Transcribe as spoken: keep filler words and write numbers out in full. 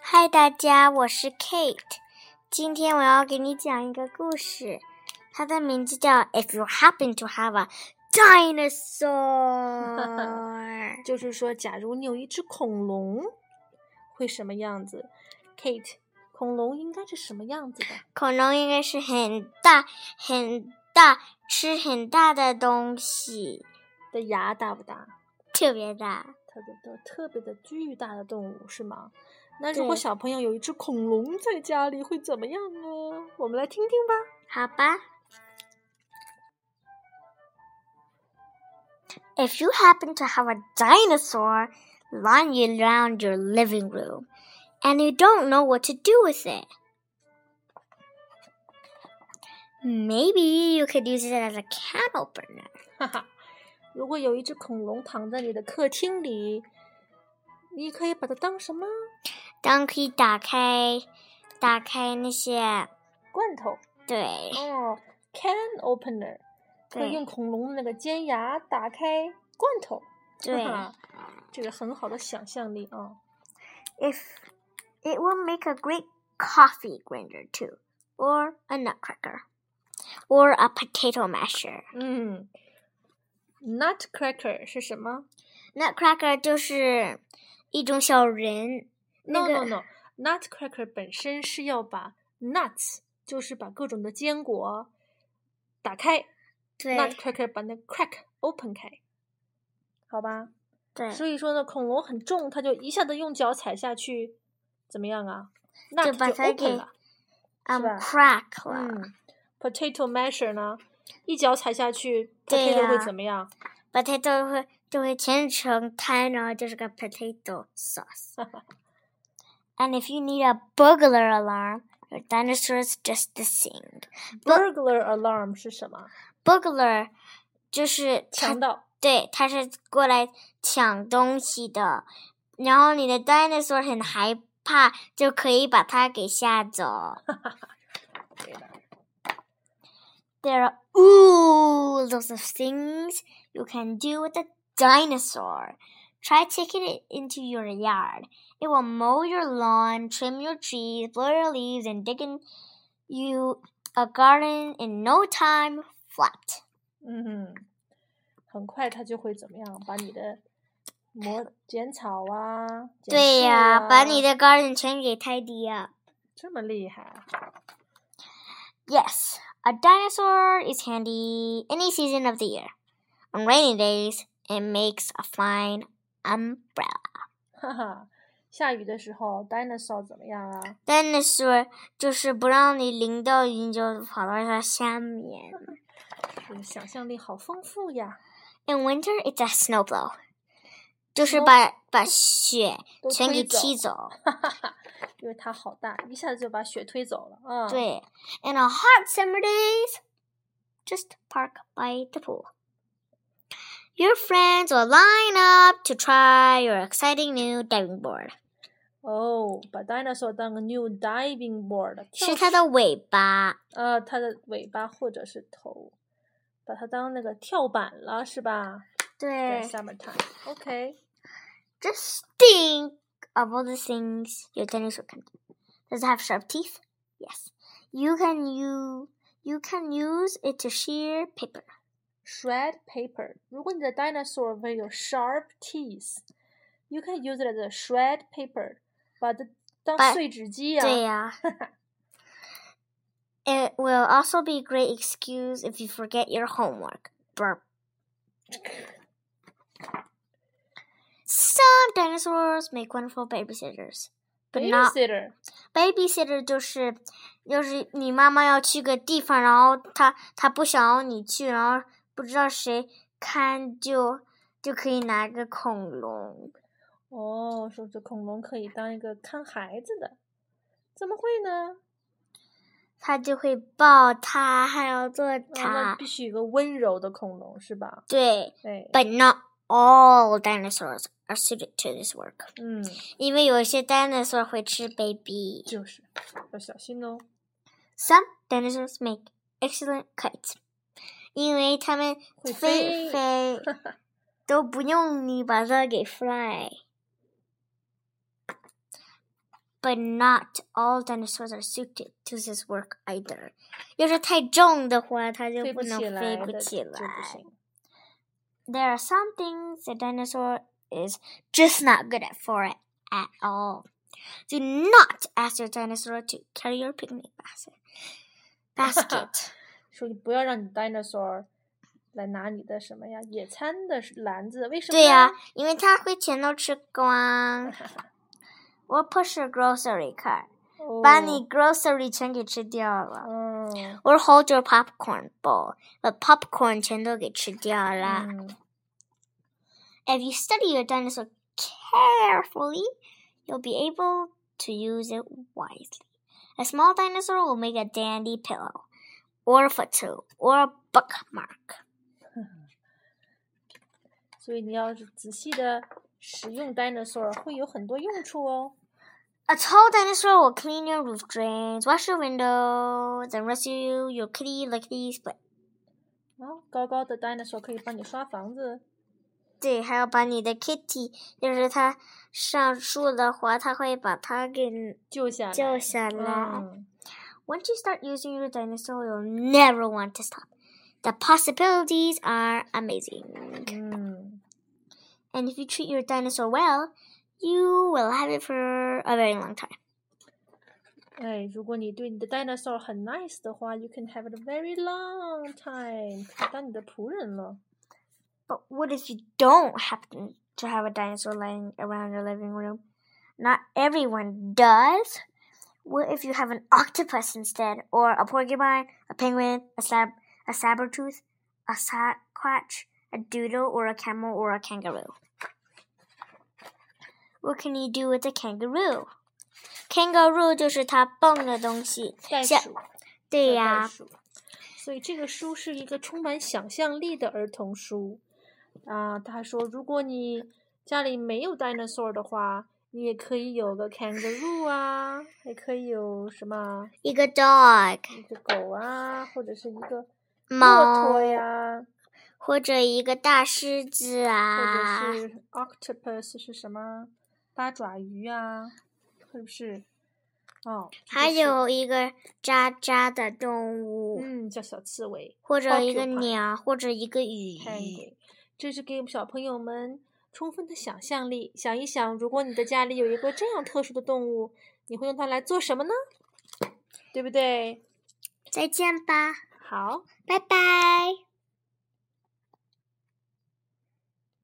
嗨，大家，我是 Kate。今天我要给你讲一个故事，它的名字叫 If You Happen to Have a Dinosaur 就是说，假如你有一只恐龙，会什么样子 ？Kate， 恐龙应该是什么样子的？ 恐龙应该是很大很大，吃很大的东西。 的牙大不大？ 特别大。 特别的、特别的巨大的动物是吗？那如果小朋友有一只恐龙在家里，会怎么样呢？我们来听听吧。 好吧。If you happen to have a dinosaur lying around your living room, and you don't know what to do with it, maybe you could use it as a can opener. 哈哈，如果有一只恐龙躺在你的客厅里，你可以把它当什么？ 当可以打开，打开那些罐头。 对。 哦 ，can opener， 可以用恐龙的那个尖牙打开罐头。 对， 这个很好的想象力啊。 If it will make a great coffee grinder too, or a nutcracker, or a potato masher. 嗯 ，nutcracker 是什么 ？Nutcracker 就是一种小人。 No 那个、 no no，nutcracker 本身是要把 nuts， 就是把各种的坚果打开。 对 ，nutcracker 把那 crack open 开，好吧？ 对。 所以说呢，恐龙很重，它就一下子用脚踩下去，怎么样啊？那就把它给 um crack 了。 嗯 ，potato masher 呢，一脚踩下去 ，potato 会怎么样 ？potato 会就会切成摊，然后就是个 potato sauce。And if you need a burglar alarm, your dinosaurs just sing. Burglar alarm 是什么 ？Burglar 就是强盗。 对，他是过来抢东西的，然后你的 dinosaur 很害怕，就可以把它给吓走。There are oodles of things you can do with a dinosaur. Try taking it into your yard. It will mow your lawn, trim your trees, blow your leaves, and dig in you a garden in no time flat. 嗯哼，很快它就会怎么样？把你的磨剪草啊， 对呀、啊，把你的 garden 全给 tidy up。 这么厉害 ？Yes, a dinosaur is handy any season of the year. On rainy days, it makes a fine umbrella. 哈哈，下雨的时候 ，dinosaur 怎么样啊 ？dinosaur 就是不让你淋到雨，你就跑到它下面。 这个想象力好丰富呀 ！In winter, it's a snowblow. 就是把把雪全给踢走， 因为它好大，一下子就把雪推走了啊！ 对 ，In a hot summer days, just park by the pool. Your friends will line up to try your exciting new diving board. 哦，把 dinosaur 当个 new diving board， 是它的尾巴。 呃，它的尾巴或者是头，把它当那个跳板了，是吧？ 对。 在 summertime. Okay. Just think of all the things your dinosaur can do. Does it have sharp teeth? Yes. You can use you can use it to shear paper. Shred paper. 如果你的 dinosaur 会有 sharp teeth, you can use it as a shred paper. 把它当碎纸机啊。 对呀。It will also be a great excuse if you forget your homework. Burp. Some dinosaurs make wonderful babysitters, but not babysitter. Babysitter 就是就是你妈妈要去个地方，然后她她不想要你去，然后不知道谁看，就就可以拿个恐龙。 哦，说这恐龙可以当一个看孩子的，怎么会呢？ 他就会抱它，还要做它。 那必须有个温柔的恐龙，是吧？ 对。 对。 But not all dinosaurs are suited to this work. 嗯。 因为有些 dinosaur 会吃 baby。 就是要小心哦。 Some dinosaurs make excellent kites. 因为它们飞飞都不用你把它给 fly. But not all dinosaurs are suited to this work either. 要是太重的话，它就不能飞不起来。There are some things a dinosaur is just not good at for it at all. Do not ask your dinosaur to carry your picnic basket. Basket. 所以不要让你 dinosaur 来拿你的什么呀？野餐的篮子，为什么？ 对呀、啊，因为它会全都吃光。Or push your grocery cart. 把你 grocery 全给吃掉了。 嗯。 Or hold your popcorn bowl. 把 popcorn 全都给吃掉了。 嗯。 If you study your dinosaur carefully, you'll be able to use it wisely. A small dinosaur will make a dandy pillow, or a footstool, or a bookmark. 所以你要是仔细的使用 dinosaur 会有很多用处哦。 A tall dinosaur will clean your roof drains, wash your windows, and rescue your kitty lickety split. 啊，高高的 dinosaur 可以帮你刷房子。 对，还要把你的 kitty， 就是它上树的话，它会把它给救下来。 救下来。 嗯。 Once you start using your dinosaur, you'll never want to stop. The possibilities are amazing. 嗯。 And if you treat your dinosaur well, you will have it for a very long time. 哎，如果你对你的 dinosaur 很 nice 的话 ，you can have it a very long time. 当你的仆人了。 But what if you don't happen to have a dinosaur lying around your living room? Not everyone does. What if you have an octopus instead, or a porcupine, a penguin, a sab a saber-tooth, a sasquatch, a doodle, or a camel, or a kangaroo? What can you do with a kangaroo? Kangaroo 就是它蹦的东西。 袋鼠。 对呀。 所以这个书是一个充满想象力的儿童书。啊，他说，如果你家里没有 dinosaur 的话，你也可以有个 kangaroo 啊，还可以有什么？ 一个 dog， 一个狗啊，或者是一个猫骆驼呀， 或者一个大狮子啊， 或者是 octopus 是什么？八爪鱼啊，是不是？哦， 还有一个渣渣的动物， 嗯，叫小刺猬， 或者一个鸟，或者一个鱼。 这是给小朋友们充分的想象力，想一想，如果你的家里有一个这样特殊的动物，你会用它来做什么呢？对不对？ 再见吧。 好， 拜拜。